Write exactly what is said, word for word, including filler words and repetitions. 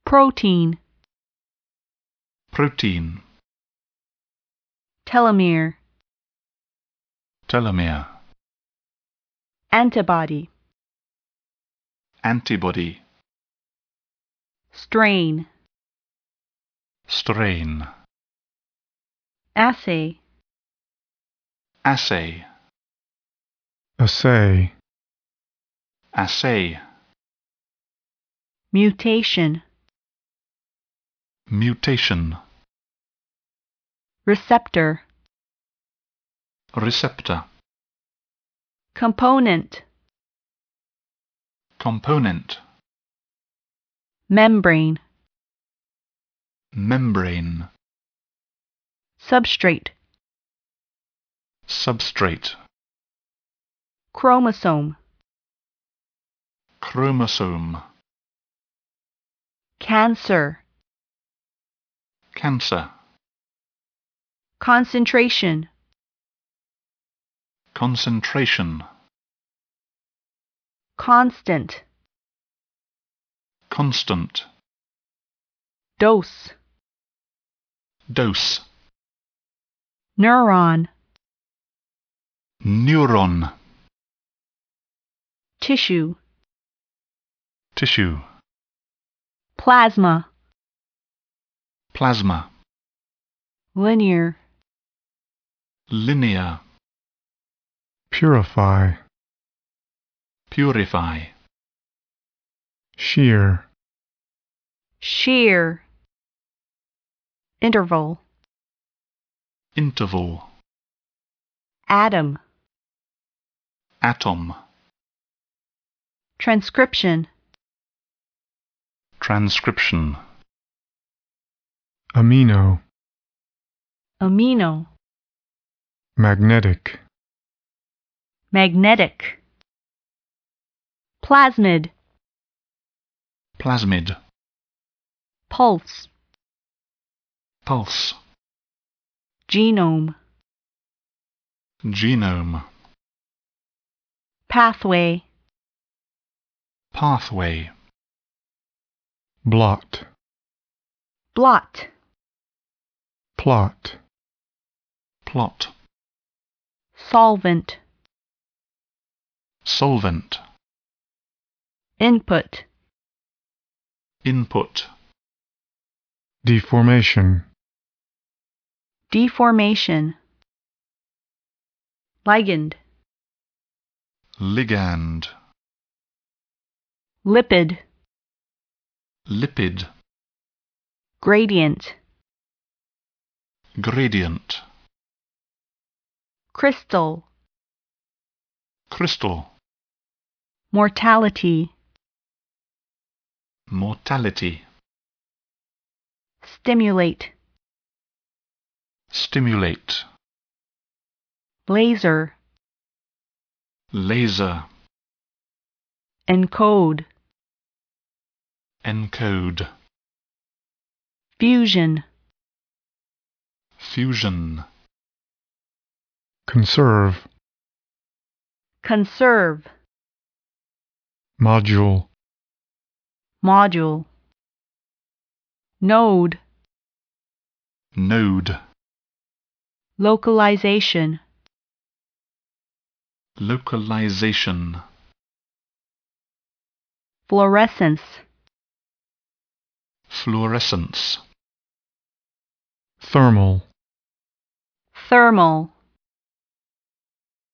protein, protein, telomere, telomere, antibody, antibody, strain, strain, assay, assay, assay, assay, mutation, mutation, receptor, receptor, component, component, membrane, membrane, substrate, substrate, chromosome, chromosome, cancer, cancer, concentration, concentration, constant, constant, dose, dose, neuron, neuron, tissue, tissue, plasma, plasma, linear, linear, purify, purify, shear, shear, interval, interval, atom, atom, transcription, transcription, amino, amino, magnetic, magnetic, plasmid, plasmid, pulse, pulse, genome, genome, pathway, pathway, blot, blot, plot, plot, solvent, solvent, input, input, deformation, deformation, ligand, ligand, lipid, lipid, gradient, gradient, crystal, crystal, mortality, mortality, stimulate, stimulate, laser, laser, encode, encode, fusion, fusion, conserve, conserve, module, module, node, node, localization, localization, fluorescence, fluorescence, thermal, thermal,